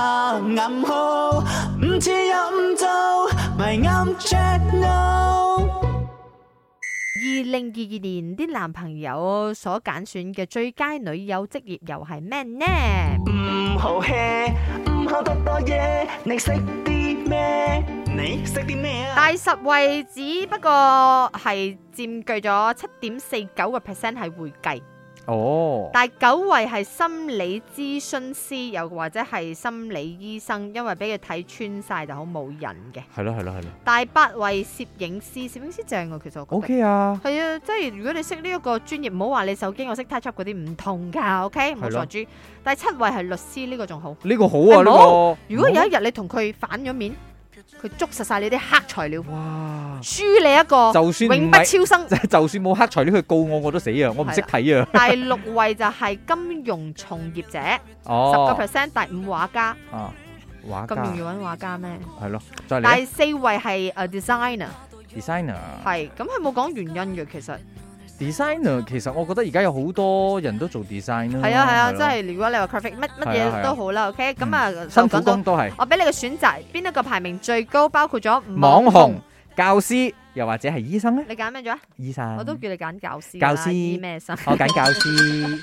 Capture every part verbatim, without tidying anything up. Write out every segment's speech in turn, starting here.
下暗號，唔似又唔做，咪啱 channel。 二零二二年啲男朋友所揀選嘅最佳女友職業又係咩呢？ 唔好 hea， 唔好多多嘢，你識啲咩？你識啲咩啊？ 第十位只不過係佔據咗七點四九個 percent 係會計。 哦， 第九位係心理諮詢師，又或者係心理醫生，因為俾佢睇穿晒就好冇癮嘅。 係咯係咯係咯。 第八位攝影師，攝影師正啊，其實我覺得 OK 啊， 係啊，即係如果你識呢一個專業，唔好話你手機我識 touch up 嗰啲唔同噶 ，OK 冇傻豬。第七位係律師，呢、這個仲好， 呢個好啊呢、這個。 如果有一日你同佢反咗面，佢捉實晒你啲黑材料， 哇， 輸你一個， 就算永不超生。 就算冇黑材料去告我，我都死啊！我唔識睇啊。 第六位就係金融從業者，十個 percent。第五畫家， 啊，畫家咁容易揾畫家咩？ 係咯，再嚟。 第四位係誒 designer， designer 係咁佢冇講原因嘅其實。 designer 其實我覺得而家有好多人都做 design 啦。 係啊係啊，即係如果你話 graphic 乜乜嘢都好啦 ，OK， 咁啊辛苦工都係。 我俾你個選擇，邊一個排名最高？包括咗網紅、教師，又或者係醫生咧？ 你揀咩咗？ 醫生。 我都叫你揀教師。 教師醫咩生？ 我揀教師。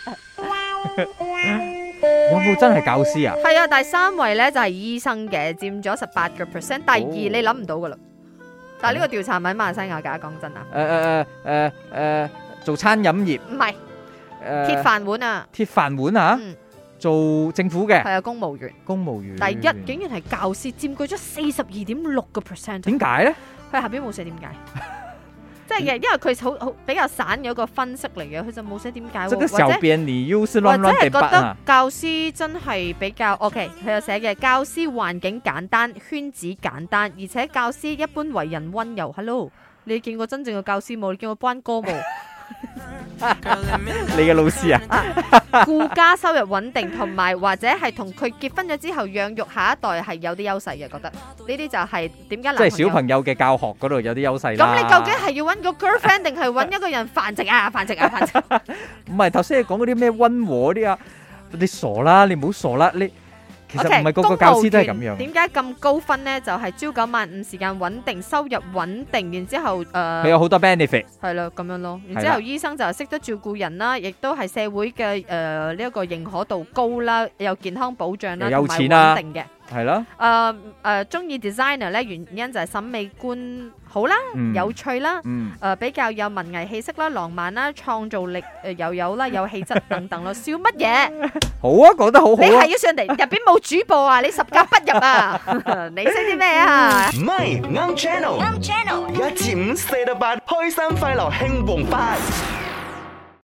有冇真係教師啊？ 係啊，第三位咧就係醫生嘅，佔咗十八個 percent。第二你諗唔到噶啦，但係呢個調查唔喺馬來西亞㗎，講真啊。 誒誒誒誒誒。做餐飲業唔係，鐵飯碗啊！ 鐵飯碗啊！ 嗯、 做政府嘅係啊，公務員。 公務員第一竟然係教師，佔據咗四十二點六個 percent。 點解咧？ 佢下邊冇寫點解，即係因為佢好好比較散嘅一個分析嚟嘅，佢就冇寫點解。 這個小編你又是亂亂地覺得教師真係比較 OK， 佢有寫嘅教師環境簡單，圈子簡單，而且教師一般為人溫柔。Hello， 你見過真正嘅教師冇？你見過班歌冇？ 你嘅老師啊， 顧家收入穩定，同埋或者係同佢結婚咗之後養育下一代係有啲優勢嘅，覺得呢啲就係點解？ 即係小朋友嘅教學嗰度有啲優勢啦。 咁你究竟係要揾個 girlfriend 定係揾一個人繁殖啊？繁殖啊？繁殖？ 唔係頭先你講嗰啲咩溫和啲啊？你傻啦，你唔好傻啦，你。其實唔係個個教師都係咁樣。 點解咁高分呢？就係、是、朝九晚五，時間穩定，收入穩定，然之後誒，佢、呃、 有好多 benefit。 係啦，咁樣咯。然之後醫生就係識得照顧人啦，亦都係社會嘅誒呢一個認可度高啦，有健康保障啦， 有錢啦， 穩定嘅。 係咯。 誒誒，中意 designer 咧，原因就係審美觀好啦，嗯、有趣啦，誒、 嗯呃、比較有文藝氣息啦，浪漫啦，創造力誒又有啦，有氣質等等咯。笑乜嘢？ 好啊，講得好好啊！ 你係要上嚟入邊冇主播啊？你十格不入啊？你識啲咩啊？ 唔係啱 channel，啱 channel，一至五四到八，開心快樂興旺發。